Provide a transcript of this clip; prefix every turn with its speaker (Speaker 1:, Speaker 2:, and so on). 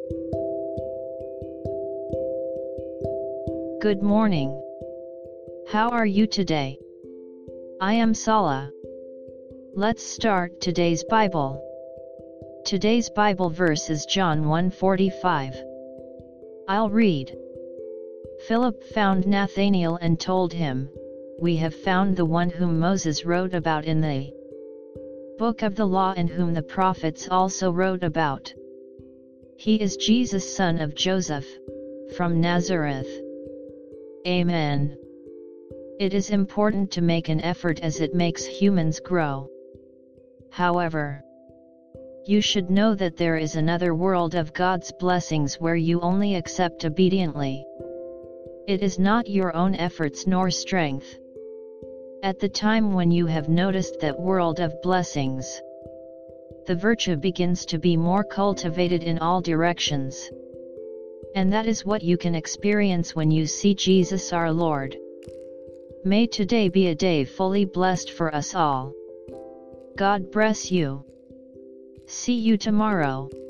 Speaker 1: Good morning. How are you today? I am Sala. Let's start today's Bible. Today's Bible verse is John 1:45. I'll read. Philip found Nathanael and told him, "We have found the one whom Moses wrote about in the book of the law and whom the prophets also wrote about. He is Jesus, son of Joseph, from Nazareth." Amen. It is important to make an effort as it makes humans grow. However, you should know that there is another world of God's blessings where you only accept obediently. It is not your own efforts nor strength. At the time when you have noticed that world of blessings, the virtue begins to be more cultivated in all directions. And that is what you can experience when you see Jesus our Lord. May today be a day fully blessed for us all. God bless you. See you tomorrow.